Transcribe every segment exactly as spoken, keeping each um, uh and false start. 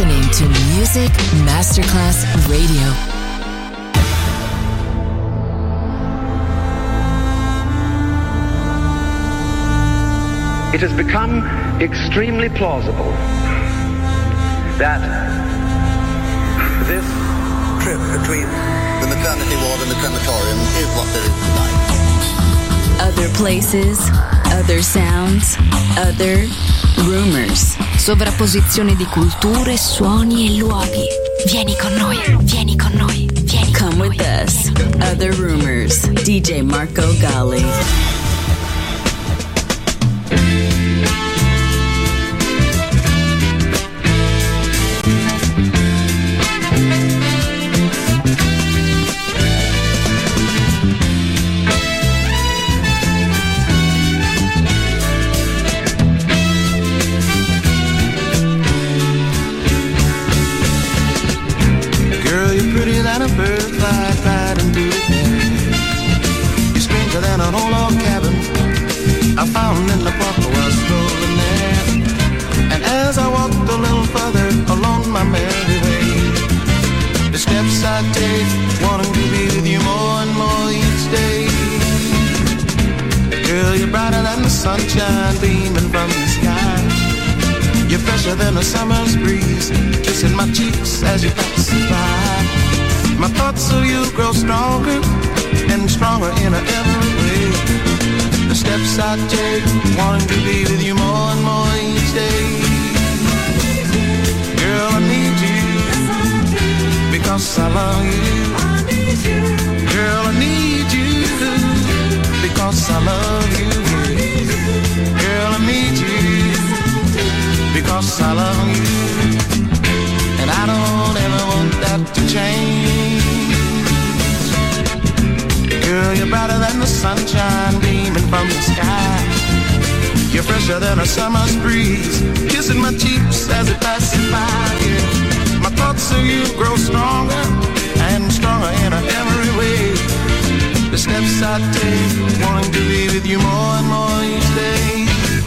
listening to Music Masterclass Radio. It has become extremely plausible that this trip between the maternity ward and the crematorium is what there is tonight. Other places, other sounds, other rumors. Sovrapposizione di culture, suoni e luoghi. Vieni con noi, vieni con noi, vieni con noi. Come with us. Other rumors. D J Marco Gally. I found in the park was strolling there, and as I walked a little further along my merry way, the steps I take, wanting to be with you more and more each day. Girl, you're brighter than the sunshine beaming from the sky. You're fresher than a summer's breeze, kissing my cheeks as you pass by. My thoughts of you grow stronger and stronger in every way. The steps I take, wanting to be with you more and more each day. Girl, I need you, because I love you. Girl, I need you, because I love you. Girl, I need you, because I love you. And I don't ever want that to change. Girl, you're brighter than the sunshine beaming from the sky. You're fresher than a summer's breeze, kissing my cheeks as it passes by. Yeah. My thoughts of you grow stronger and stronger in every way. The steps I take, wanting to be with you more and more each day.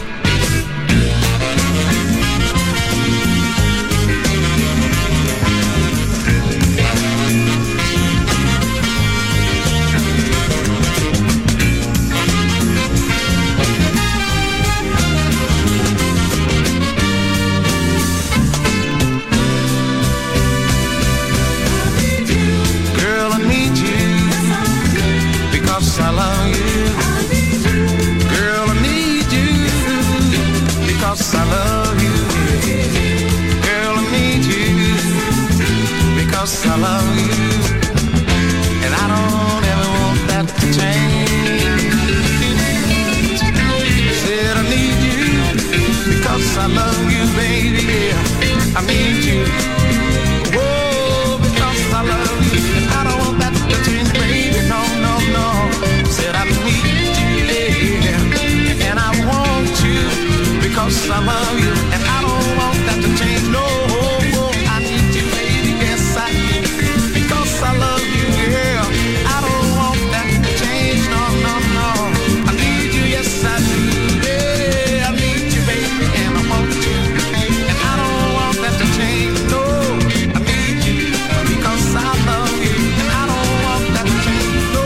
I love you. Girl, I need you, because I love you. Girl, I need you, because I love you. And I don't ever want that to change. Said I need you, because I love you, baby. I need you. Whoa, because I love you. And I don't want that to change, baby. No, no, no. Said I need you, yeah, and I want you, because I love you, and I don't want that to change, no, I need you, baby, yes I do, because I love you, yeah, I don't want that to change, no, no, no, I need you, yes I do, yeah, I need you, baby, and I want you, and I don't want that to change, no, I need you, because I love you, and I don't want that to change, no.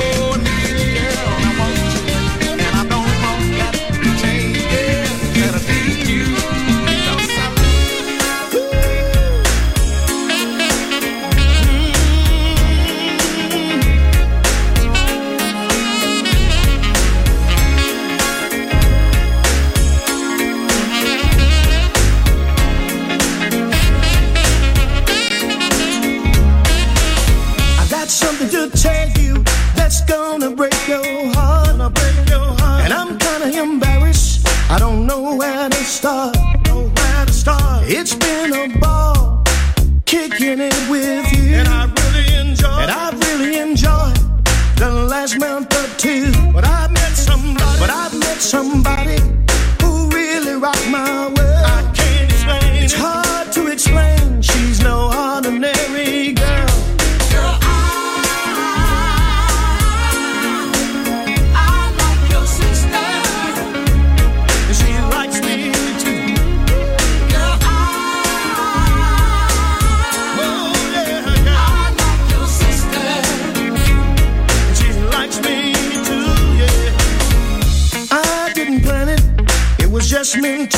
Something to tell you that's gonna break your heart, gonna break your heart. And I'm kinda embarrassed, I don't know where to start, know where to start. It's been a ball kicking it with you, and I really enjoyed, and I really enjoyed the last month or two. But I met somebody, but I met somebody who really rocked my world. I can't explain, it's hard to explain. She's no ordinary girl. She likes me too. Girl, I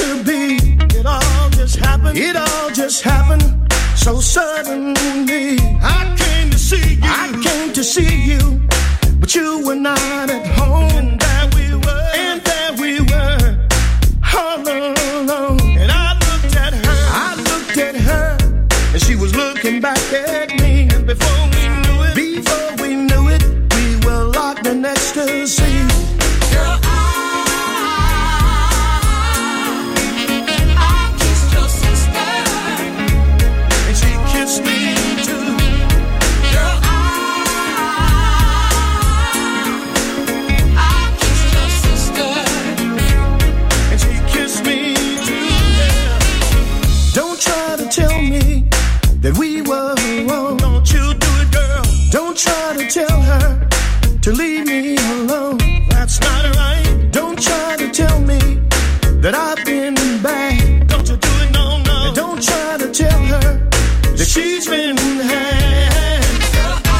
to be. It all just happened. It all just happened so suddenly. I came to see you. I came to see you, but you were not at home. And there we were. And there we were, all alone. And I looked at her. I looked at her, and she was looking back at me. And before we knew it, before we knew it, we were locked in ecstasy. Girl, I, I kissed your sister, and she kissed me too. Girl, I, I kissed your sister, and she kissed me too. Yeah. Don't try to tell me that we were wrong. Don't you do it, girl. Don't try to tell her to leave me alone. That's not right. Don't try to tell me that I've been bad. Don't you do it, no, no. And don't try to tell her that she's been had. Girl, I,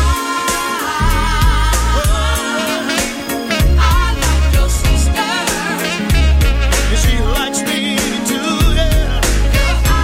I like your sister, and she likes me too, yeah. Girl, I,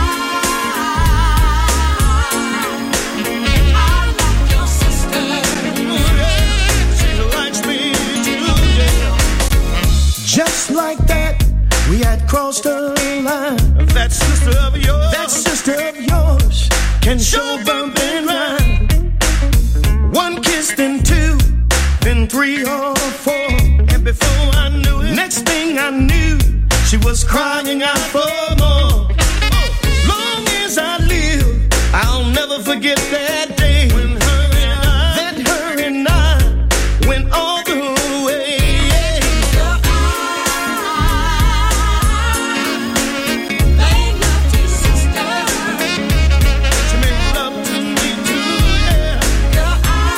I like your sister, yeah. She likes me too, yeah. Just like that, we had crossed a line. That sister of yours, that sister of yours, can show bump and ride. One kiss, then two, then three or four. And before I knew it, next thing I knew, she was crying out for more. Long as I live, I'll never forget that day when her and I, that her and I went all the way. Yeah. Girl, I made love to your sister. She made love to me too, yeah. Girl,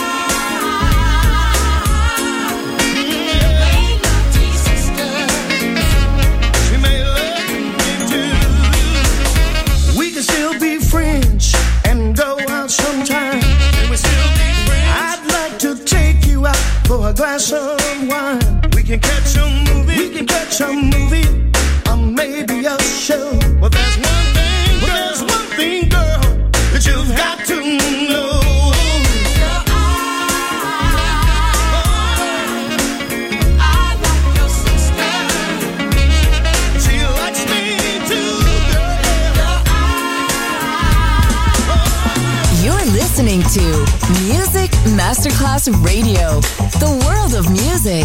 I made love to your sister. She made love to me too. We can still be friends and go out sometime. And we still be friends. I'd like to take you out for a glass of wine. We can catch a movie. We can catch a movie, or maybe a show. Well, there's one thing. Well, there's one thing, girl, that you've got to know. Girl, I, I like your sister. She likes me too, girl. You're listening to Music Masterclass Radio, the world of music.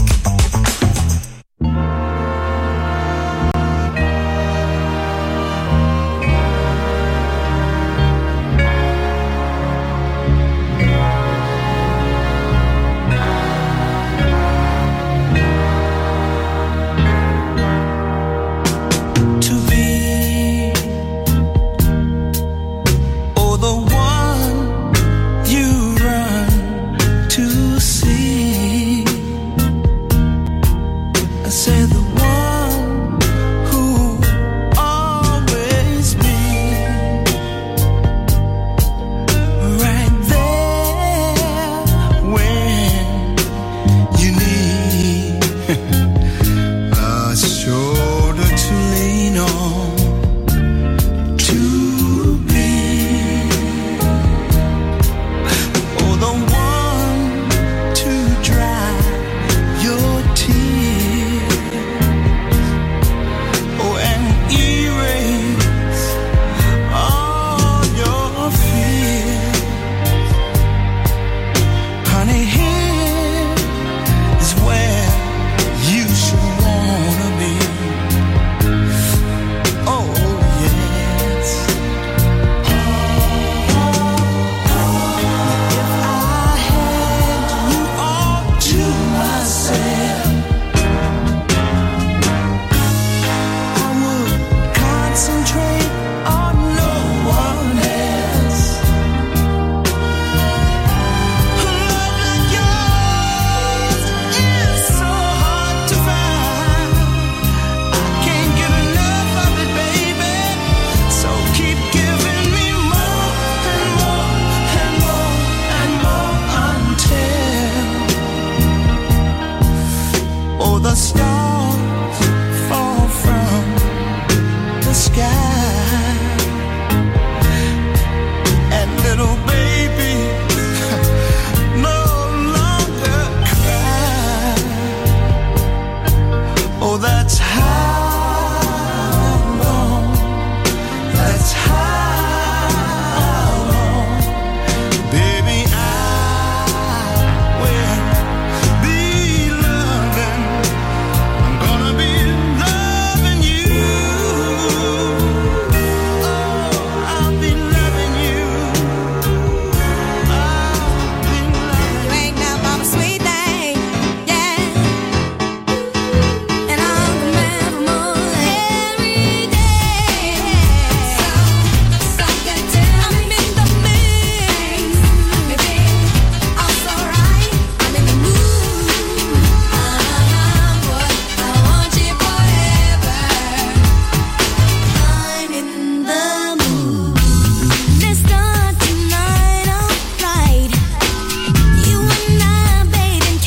To be, oh, the one you run to see. sky. And little baby no longer cry. Oh, that's how long, that's how long, baby, I will be loving, I'm gonna be loving you. Oh, I'll be loving you. I'll be loving You ain't no mama sweet thing, yeah. And I'll remember more every day. So, so good to I'm in the mix, baby. All's alright. I'm in the mood. I'm what I want you forever. I'm in the mood. Let's start tonight, alright. You and I, bathing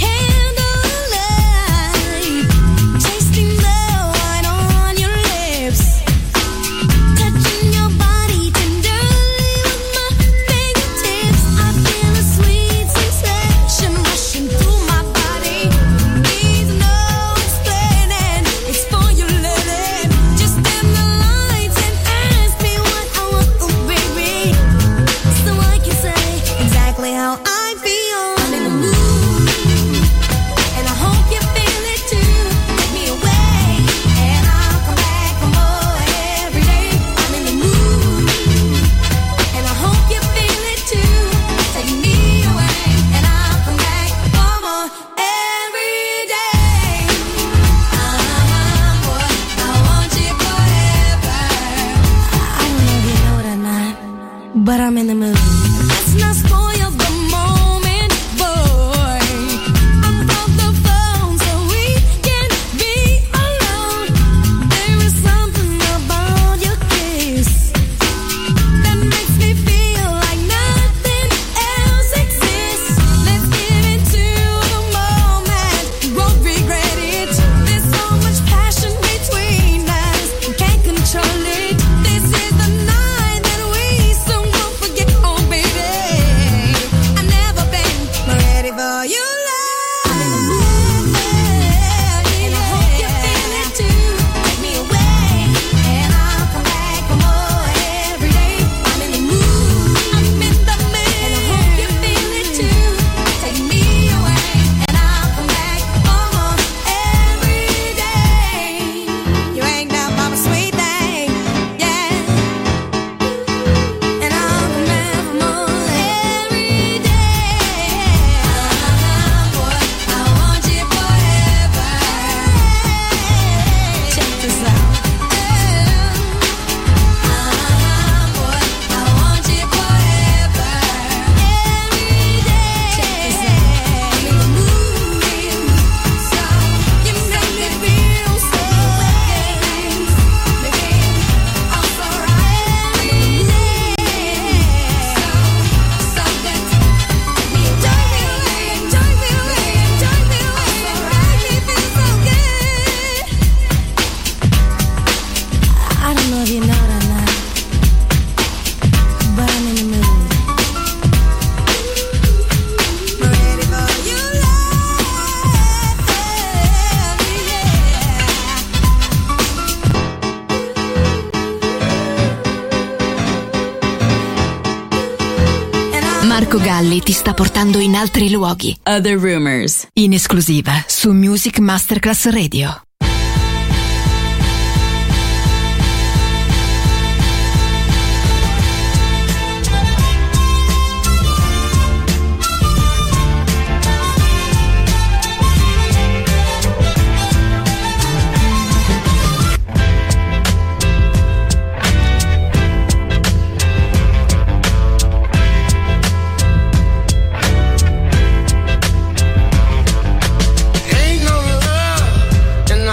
candlelight, tasting the wine on your lips, touching your body tenderly with my fingertips. I feel a sweet sensation rushing through my body. Needs no explaining, it's for your living. Just dim the lights and ask me what I want, oh baby, so I can say exactly how I feel. I'm in the mood, and I hope you feel it too. Take me away, and I'll come back for more every day. I'm in the mood, and I hope you feel it too. Take me away, and I'll come back for more every day. I'm what I want you forever. I don't know if you know it or not, but I'm in the mood. Let's not spoil the moment, boy. I'm off the phone so we can be alone. There is something about your kiss that makes me feel like nothing else exists. Let's give it to the moment, we won't regret it. There's so much passion between us, we can't control it. This is the night that we soon won't forget. Oh baby, I've never been more ready for you. I'm in the mood, and I hope you feel it too. Take me away, and I'll come back for more every day. I'm in the mood, I'm in the mood, and I hope you feel it too. Take me away, and I'll come back for more every day. You ain't no mama sweet thing, yeah. And I'll remember more every day. I'm what I want you forever. Check this out. I'm what I want you forever. Every day. Check this out. I'm in the mood, so you make me feel so good. Baby, I'm so right. I'm in the mood, so so good. Me enjoy me away, enjoy me away, enjoy me away. Make me feel so good. I don't know if you know it or not, but I'm in the mood. Ready for you, love, yeah. Marco Galli ti sta portando in altri luoghi. Other Rumors, in esclusiva su Music Masterclass Radio. Ain't no love in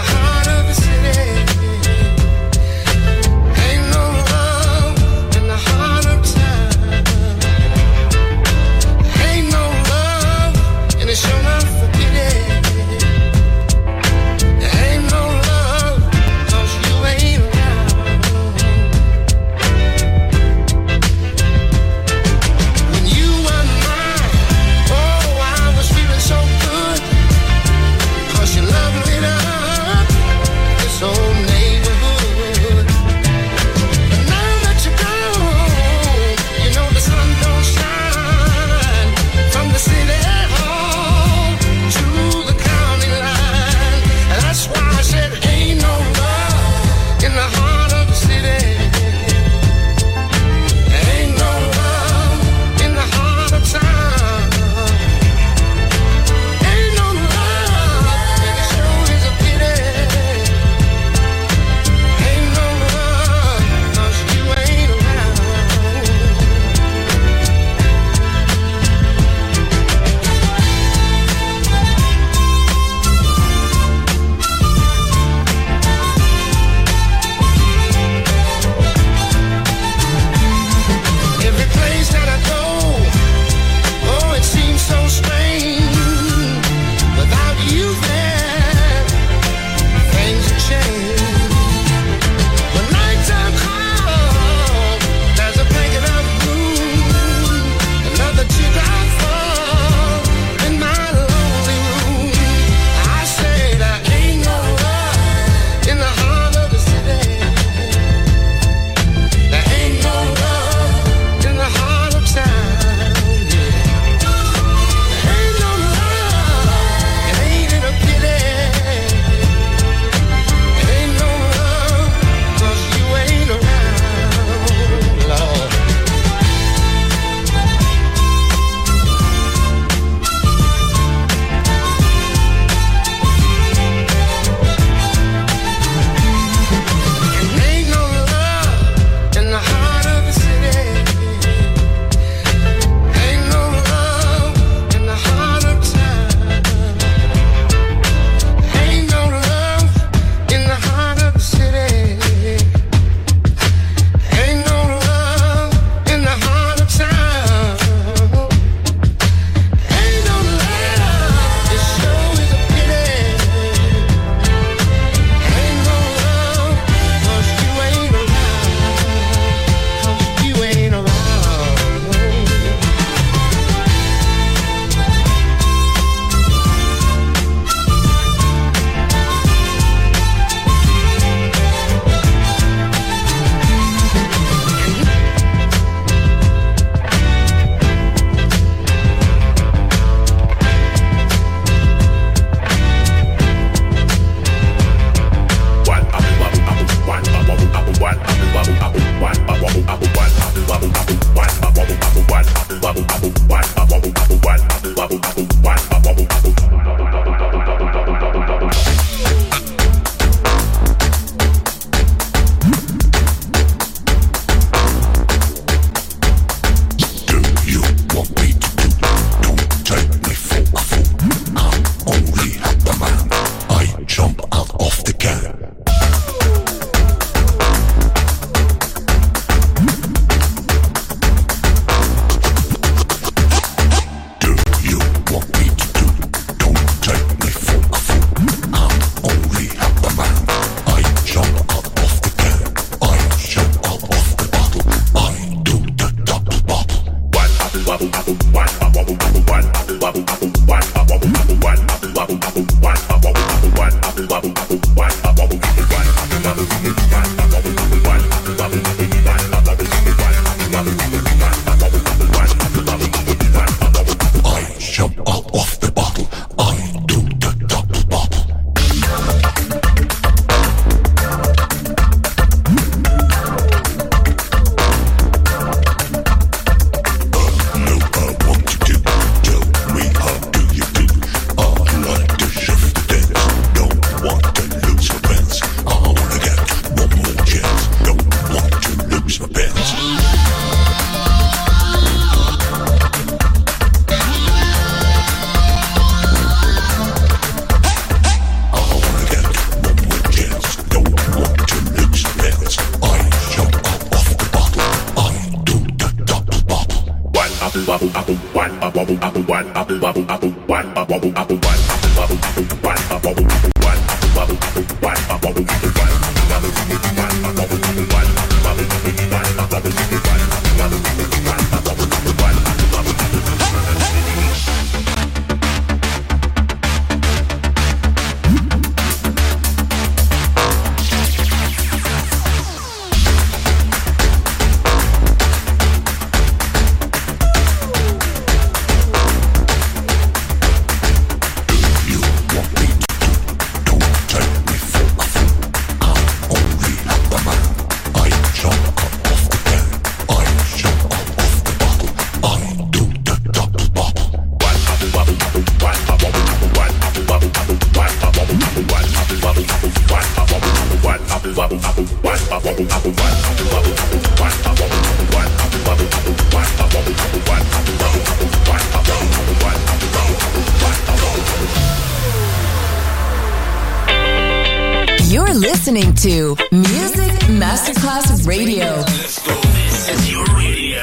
You're listening to Music Masterclass Radio. This is your radio.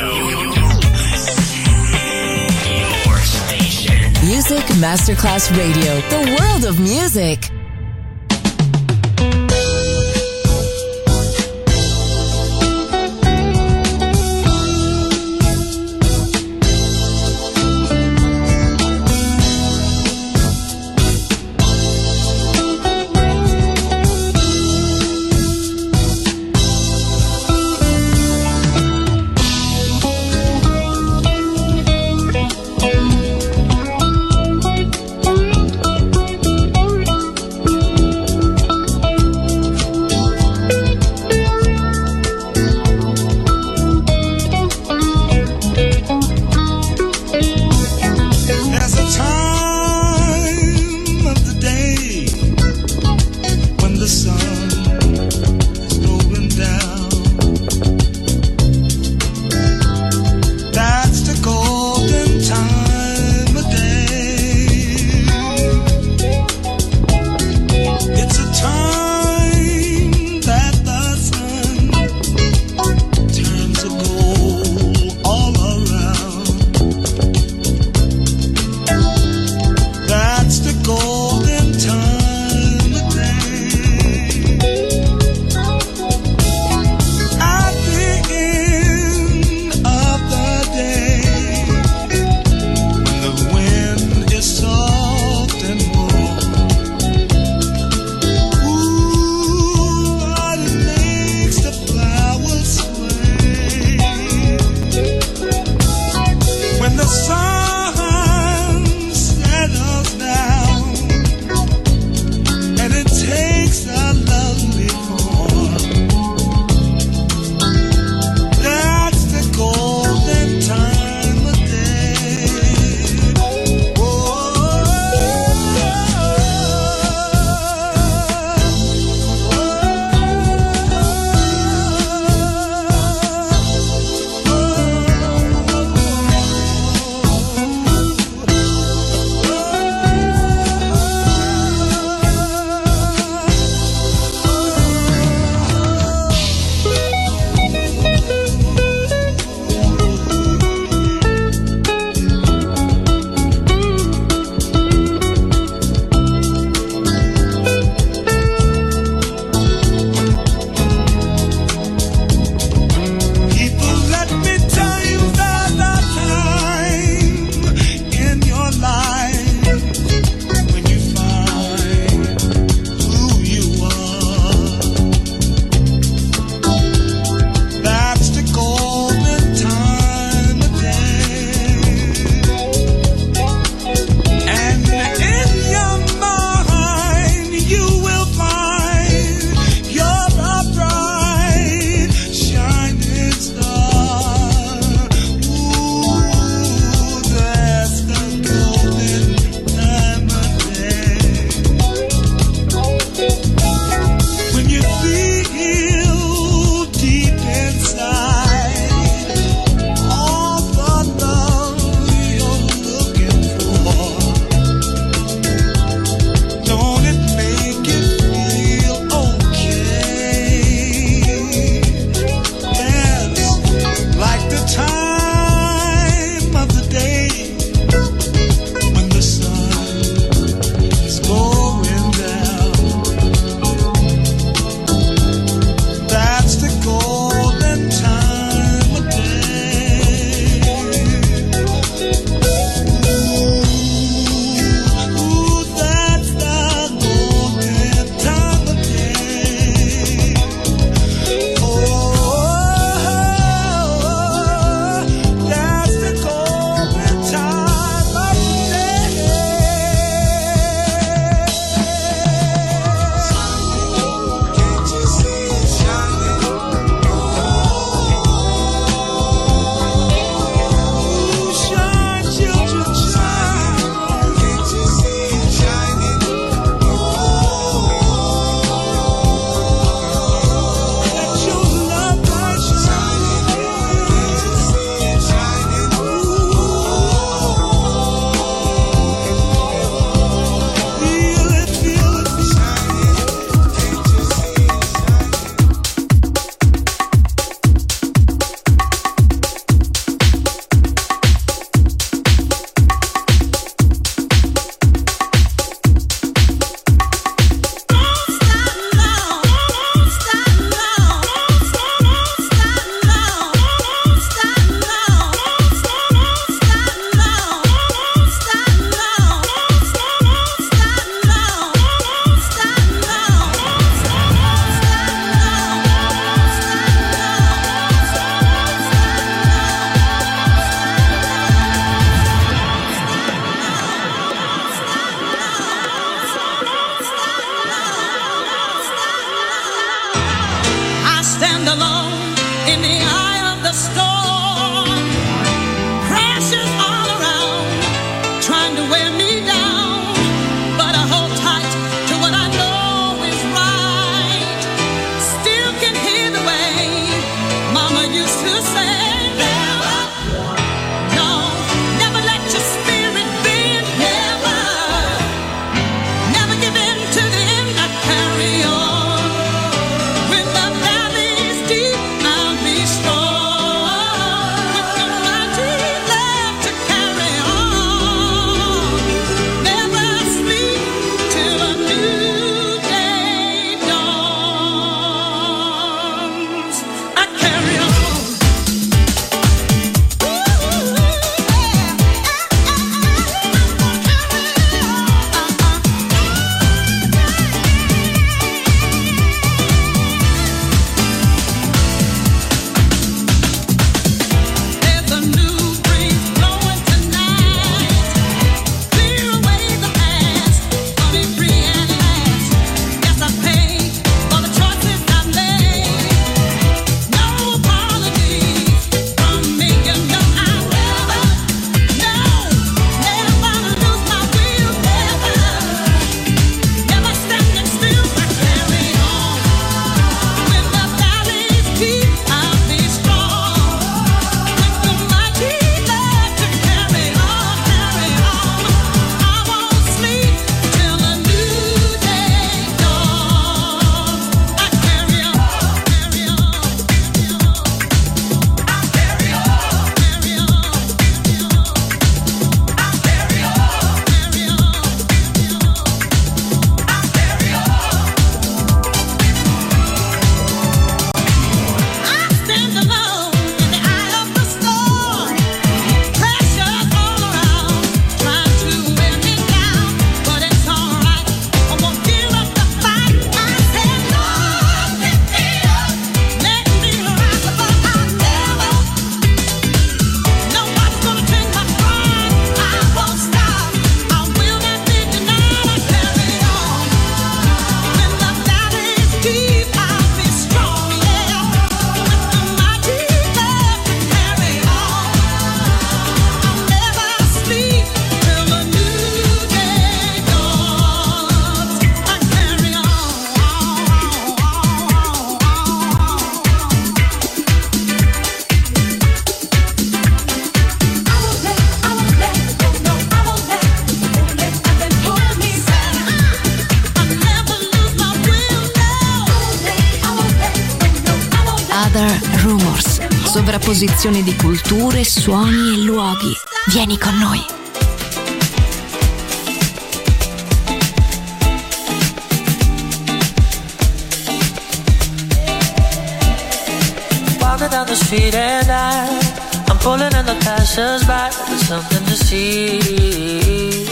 Your station. Music Masterclass Radio. The world of music. Sovrapposizione di culture, suoni e luoghi. Vieni con noi. Walking down the street and I, I'm pulling in the passers-by. There's something to see.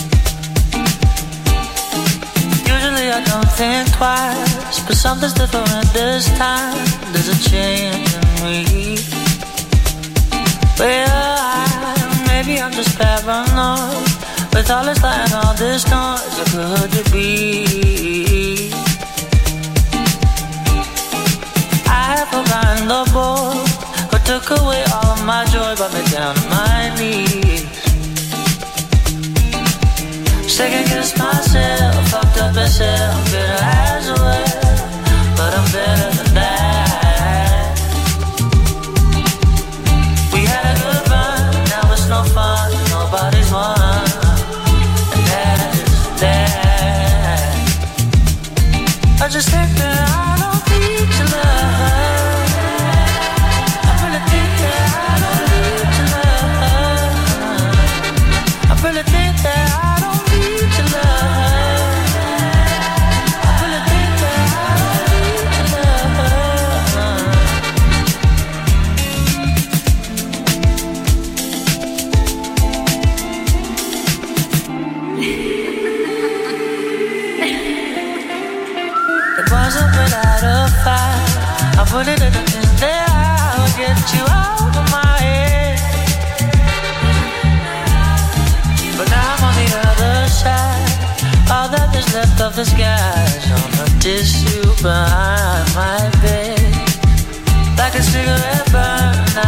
Usually I don't think twice, but something's different this time. There's a change in me. Well, I, maybe I'm just paranoid. With all this light and all this noise, how could it be? I have forgotten the boy who took away all of my joy, brought me down to my knees. Second guess myself, fucked up and said I'm bitter as well, but I'm better than that. We had a good run, now it's no fun, nobody's won, and that is that. I just think that I don't need your love. I really think that I don't need your love. I really think that I I put it in the things that I would get you out of my head. But now I'm on the other side. All that is left of the skies on the tissue behind my bed. Like a cigarette burn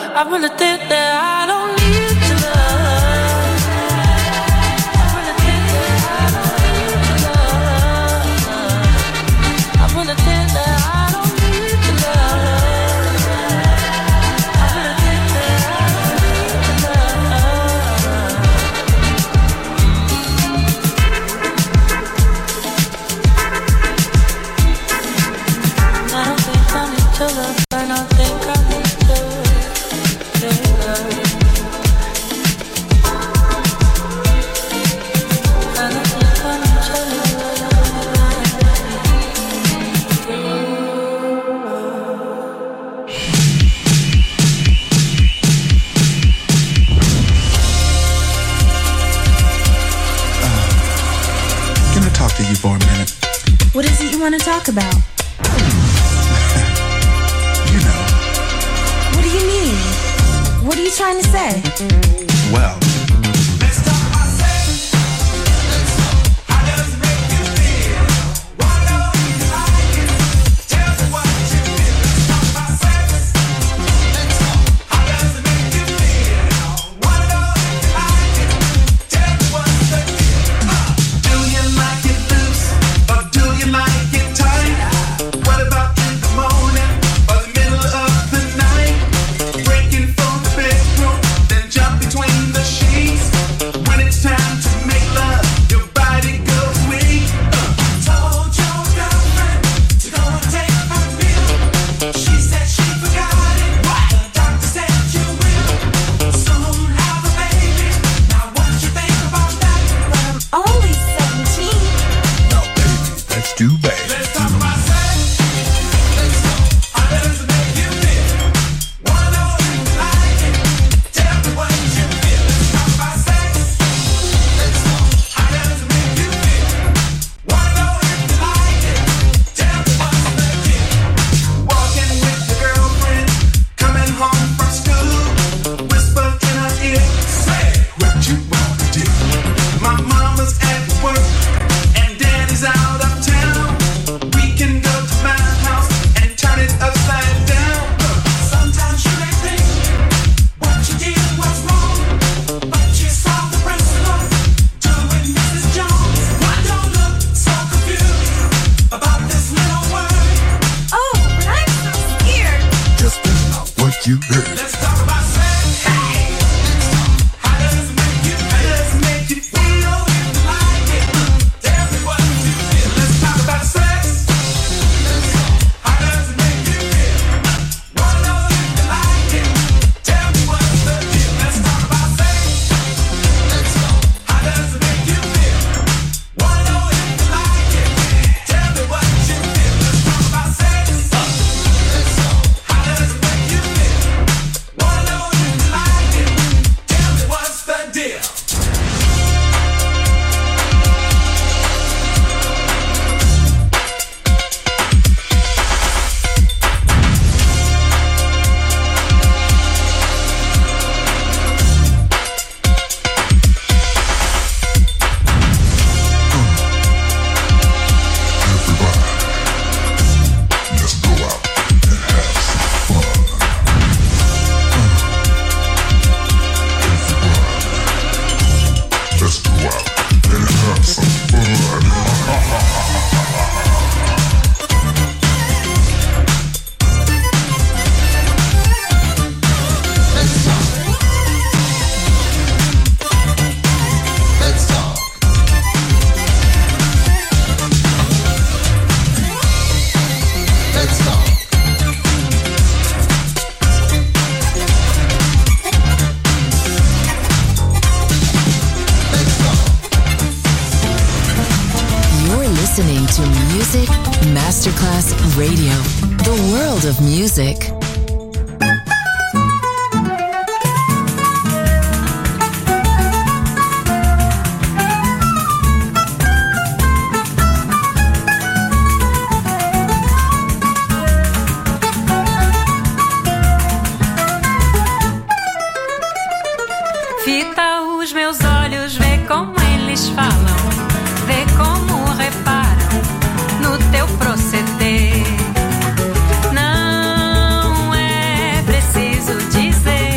I really think that I don't need your love. I really think that I don't need your love. I really think that I don't need your love. I really think that I don't need your love. I don't think I need your love. I don't think I need your love. Can I talk to you for a minute? What is it you want to talk about? You know. What do you mean? What are you trying to say? Well, Masterclass Radio, the world of music. Fita os meus olhos, vê como eles falam, vê como reparam no teu proceder. Não é preciso dizer.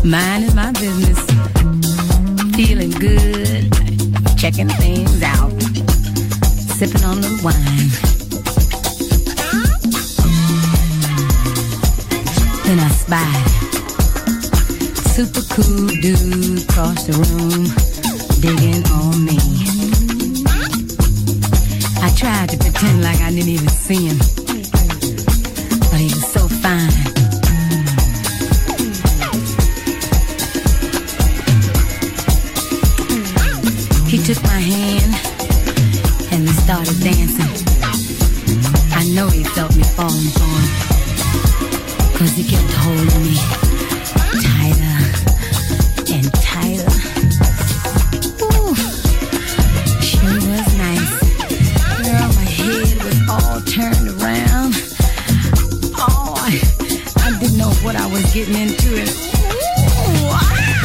minding my business, feeling good, checking things out, sipping on the wine. Then I spied super cool dude across the room, digging on me. I tried to pretend like I didn't even see him, but he was so fine. He took my hand and we started dancing. I know he felt me falling for him, 'cause he kept holding me tighter and tighter. Ooh, sure was nice. Girl, my head was all turned around. Oh, I, I didn't know what I was getting into. And ooh, wow.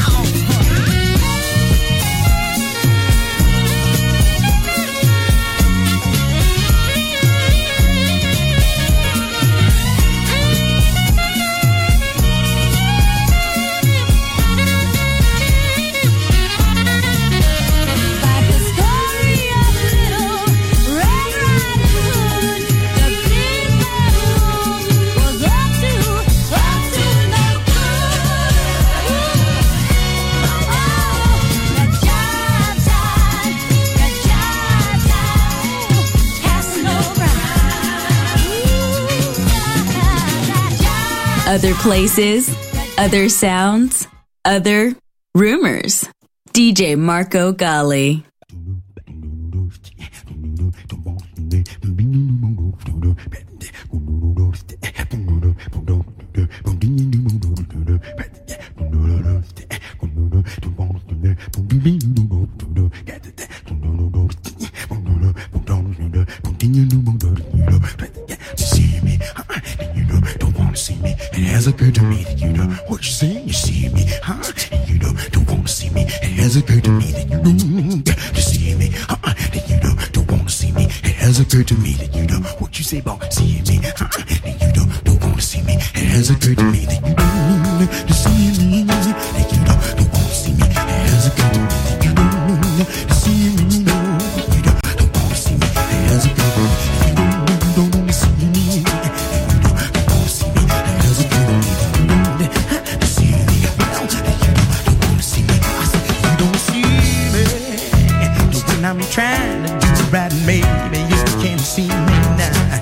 Other places, other sounds, other rumors. D J Marco Gally. See me, it has occurred to me that you know what you say. You see me, huh? And you know don't wanna see me. It has occurred to me that you know to see me, huh? And you know don't wanna see me. It has occurred to me that you know what you say about seeing me, huh? And you know don't wanna see me. It has occurred to me that you know to see me, that you know don't wanna see me. It has occurred to me that you know to see me, you know don't wanna see me. It has occurred to me that you know don't wanna see me. I'm trying to do it right, maybe you can't see me now.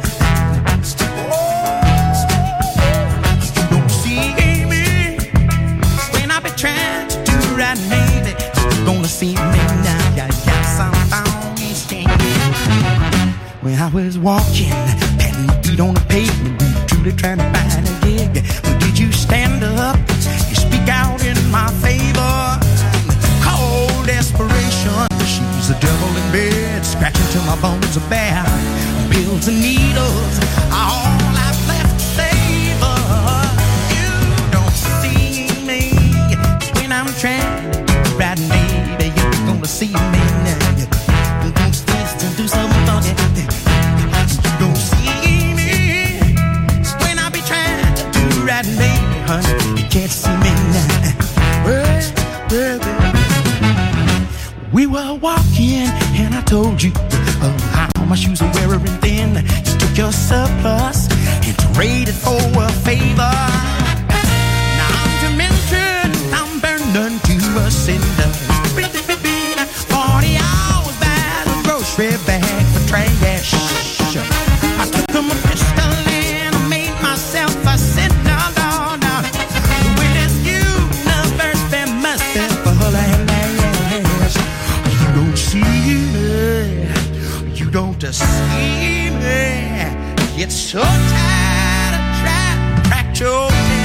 You don't see me when I be trying to do it right, maybe you're gonna see me now. Yeah, yeah, somehow it's changing. When I was walking, patting my feet on the pavement, truly trying to find a gig. But did you stand up and speak out in my favor? Cold desperation. She's the devil in bed, scratching till my bones are bare. Pills and needles are all I've left to savor. You don't see me when I'm trying to do right, baby. You're gonna see me now. You're gonna taste and do something funny. You don't see me when I be trying to do right, baby, honey. You can't see me now. Well, well, well. We were walking and I told you uh, how my shoes are wearing thin. You took your surplus and traded for a favor. Now I'm tormented, I'm burned to a cinder. Forty hours by the grocery bag for trash. I took my pistol and I made myself a sinner. No, no. With this universe, there must be full of you don't see me, you don't see me. It's so tired of trying to track your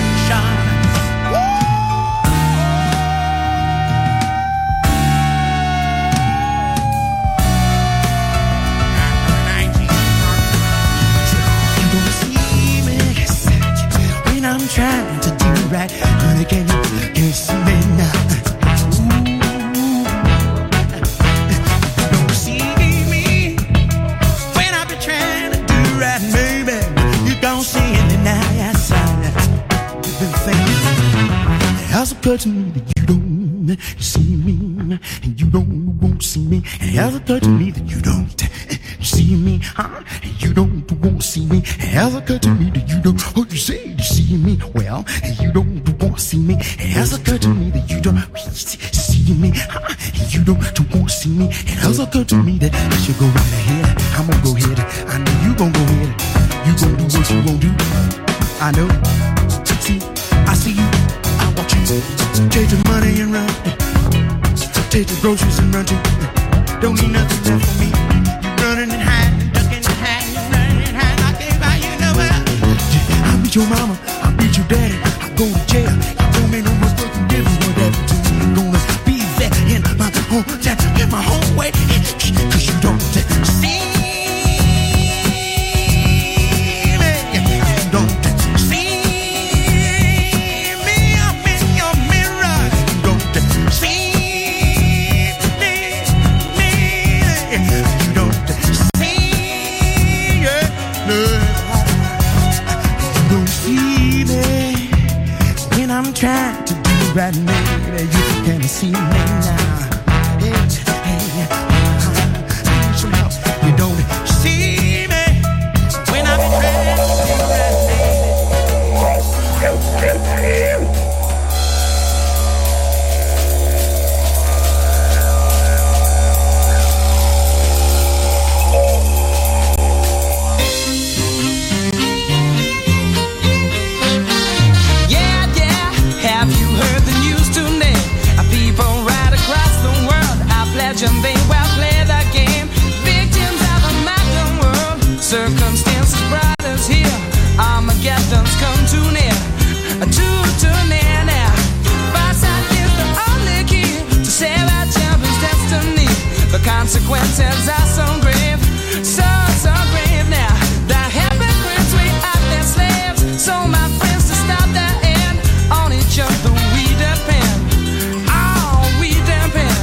don't see me, and you don't won't see me. And it has occurred to me that you don't see me, huh? And you don't won't see me. It has occurred to me that you don't. Oh, you say you see me, well, and you don't won't see me. It has occurred to me that you don't see me, huh? And you don't won't see me. It has occurred to me that I should go right ahead. I'm gonna go ahead. I know you gonna go ahead. You gonna do what you gonna do. I know. See, I see you. I watch you. Take the money and run. Take the groceries and run too. Don't need nothing left for me. You running and hiding, ducking and hiding, you running and hiding. I can't find you nowhere. I beat your mama. I beat your daddy. I go to jail. You don't make no more fucking difference what happened to me. I'm gonna be there in my home, in my home way. Cause you don't see. I'm trying to do right, maybe you can see me now. Hey, hey, uh-huh. I need some help. You don't see me when I'm trying to do right, baby. And they will play the game. Victims of a modern world. Circumstances brought us here. Armageddon's come too near. Too, too near now. Foresight is the only key to save our children's destiny. The consequences are so grave. So, so grave now. The hypocrites, we are their slaves. So my friends, to stop their end, on each other we depend. Oh, we depend.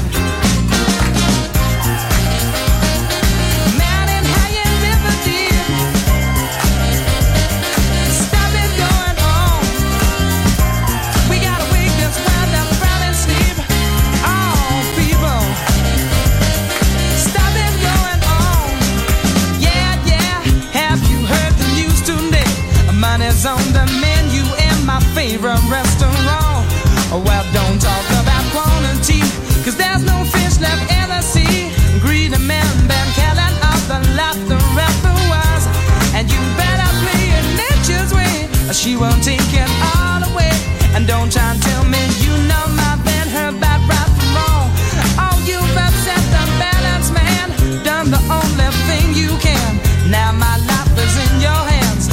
On the menu in my favorite restaurant. Well, don't talk about quantity, cause there's no fish left in the sea. Greedy men been killing off the laughter afterwards. And you better play it nature's way, or she won't take it all away. And don't try and tell me you know my band, her bad right from wrong. Oh, you've upset the balance, man. Done the only thing you can. Now my life is in your hands.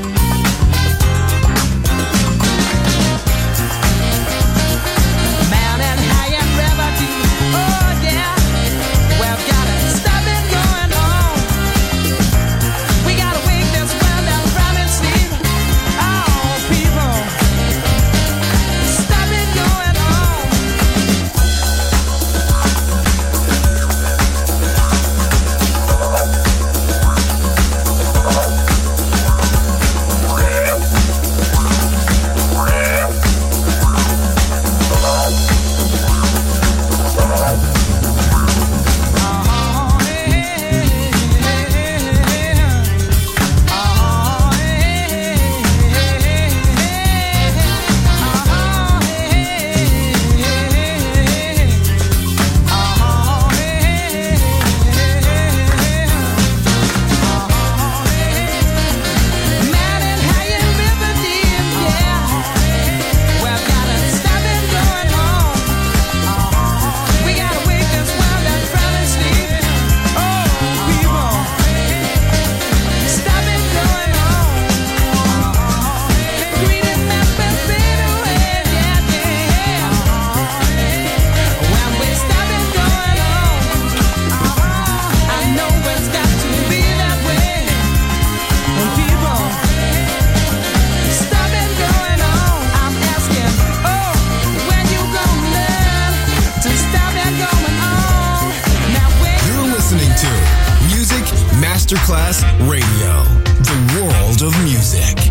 Masterclass Radio, the world of music.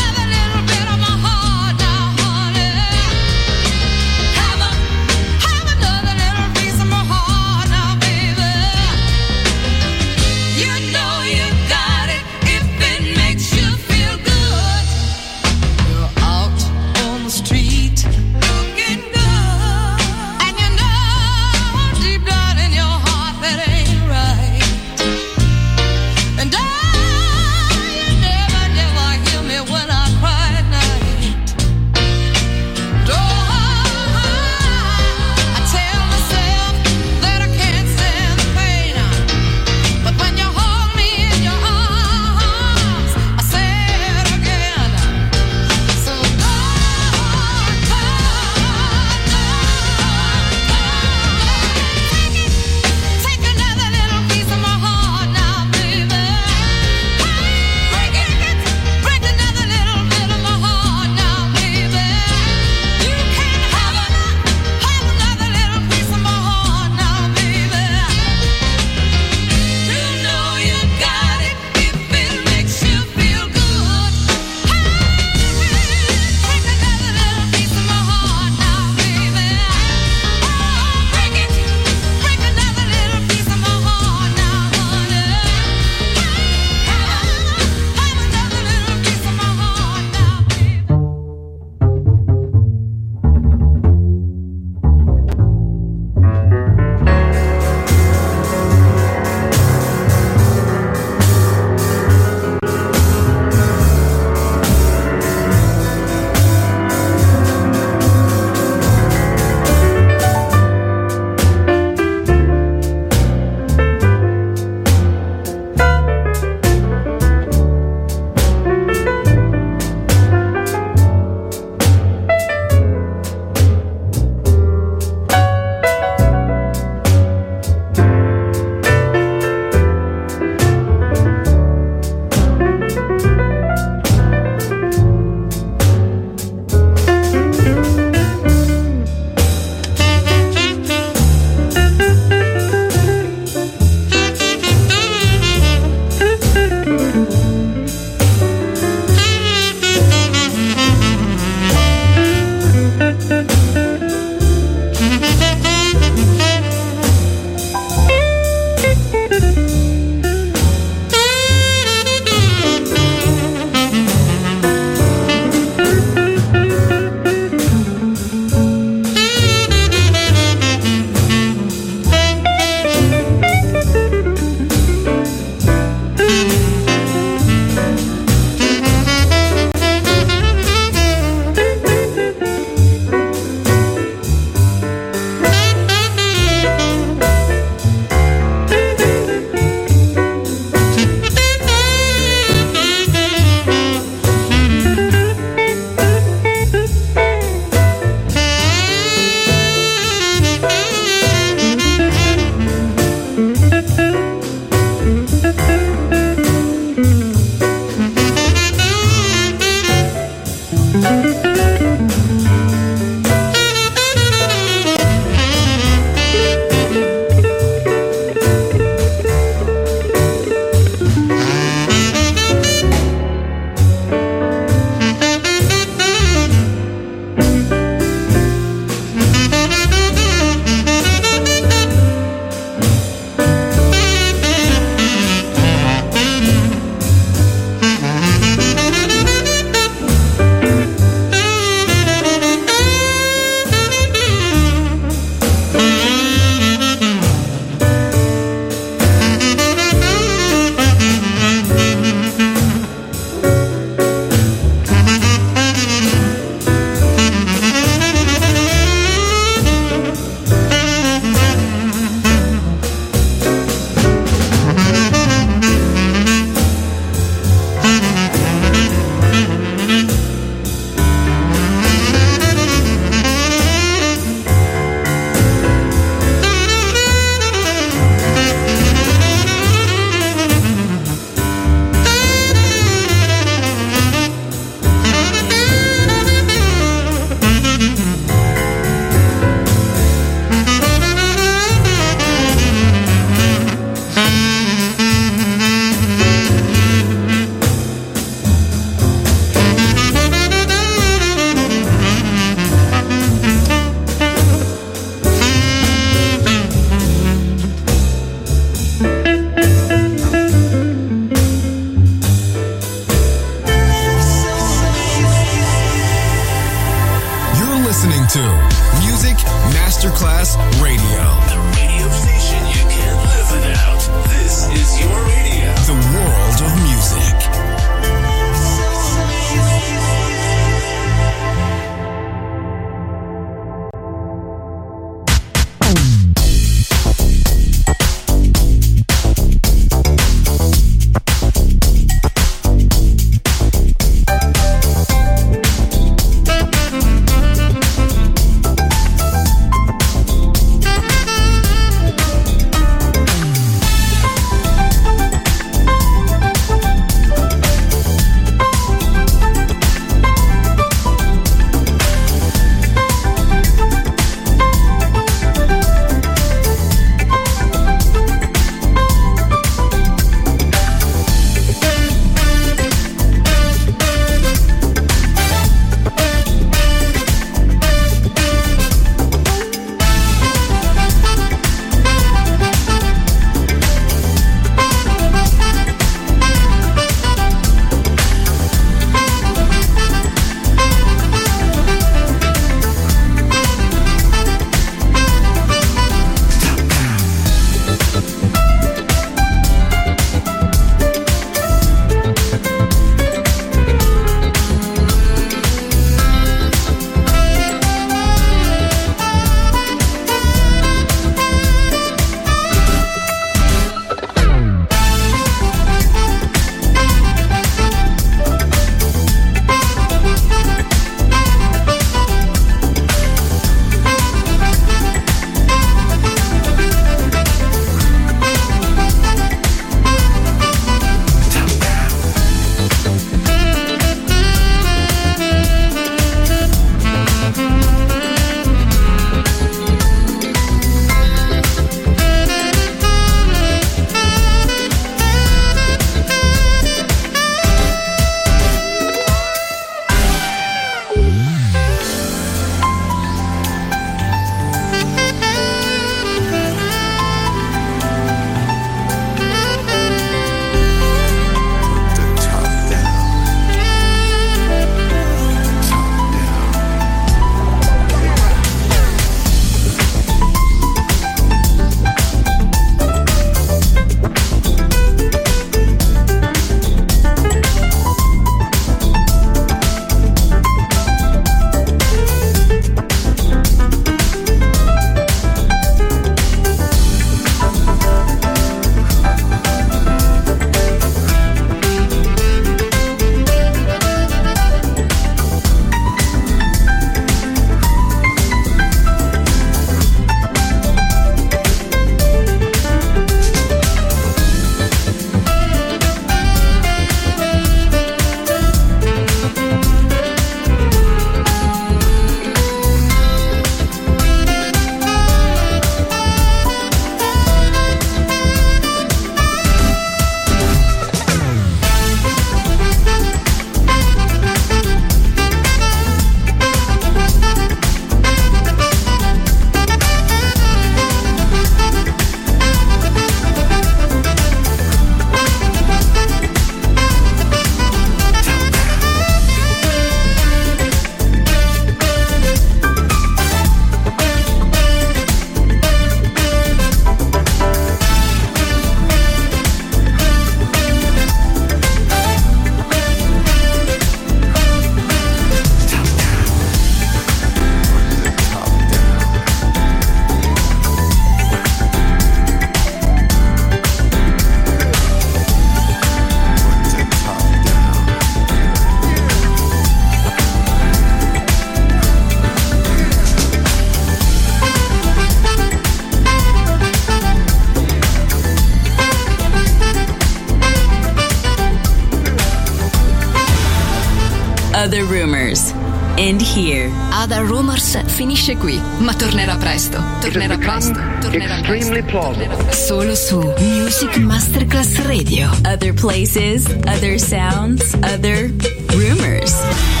Other Rumors. End here. Other Rumors finisce qui, ma tornerà presto. Tornerà presto. Tornerà extremely plausible. Solo su Music Masterclass Radio. Other places, other sounds, other rumors.